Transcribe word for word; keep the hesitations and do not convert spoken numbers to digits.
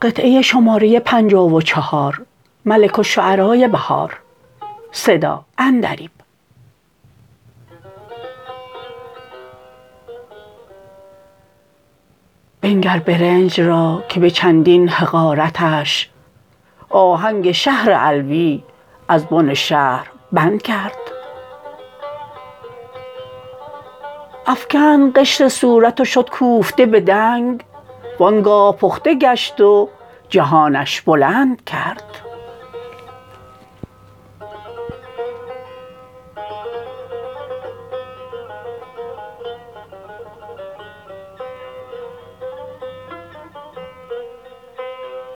قطعه شماره پنجاه و چهار ملک الشعرای بهار صدا عندلیب. بنگر برنج را که به چندین حقارتش آهنگ شهر علوی از بن شهر بند کرد. افکند قشر صورت و شد کوفته به دنگ، وانگاه پخته گشت و جهانش بلند کرد.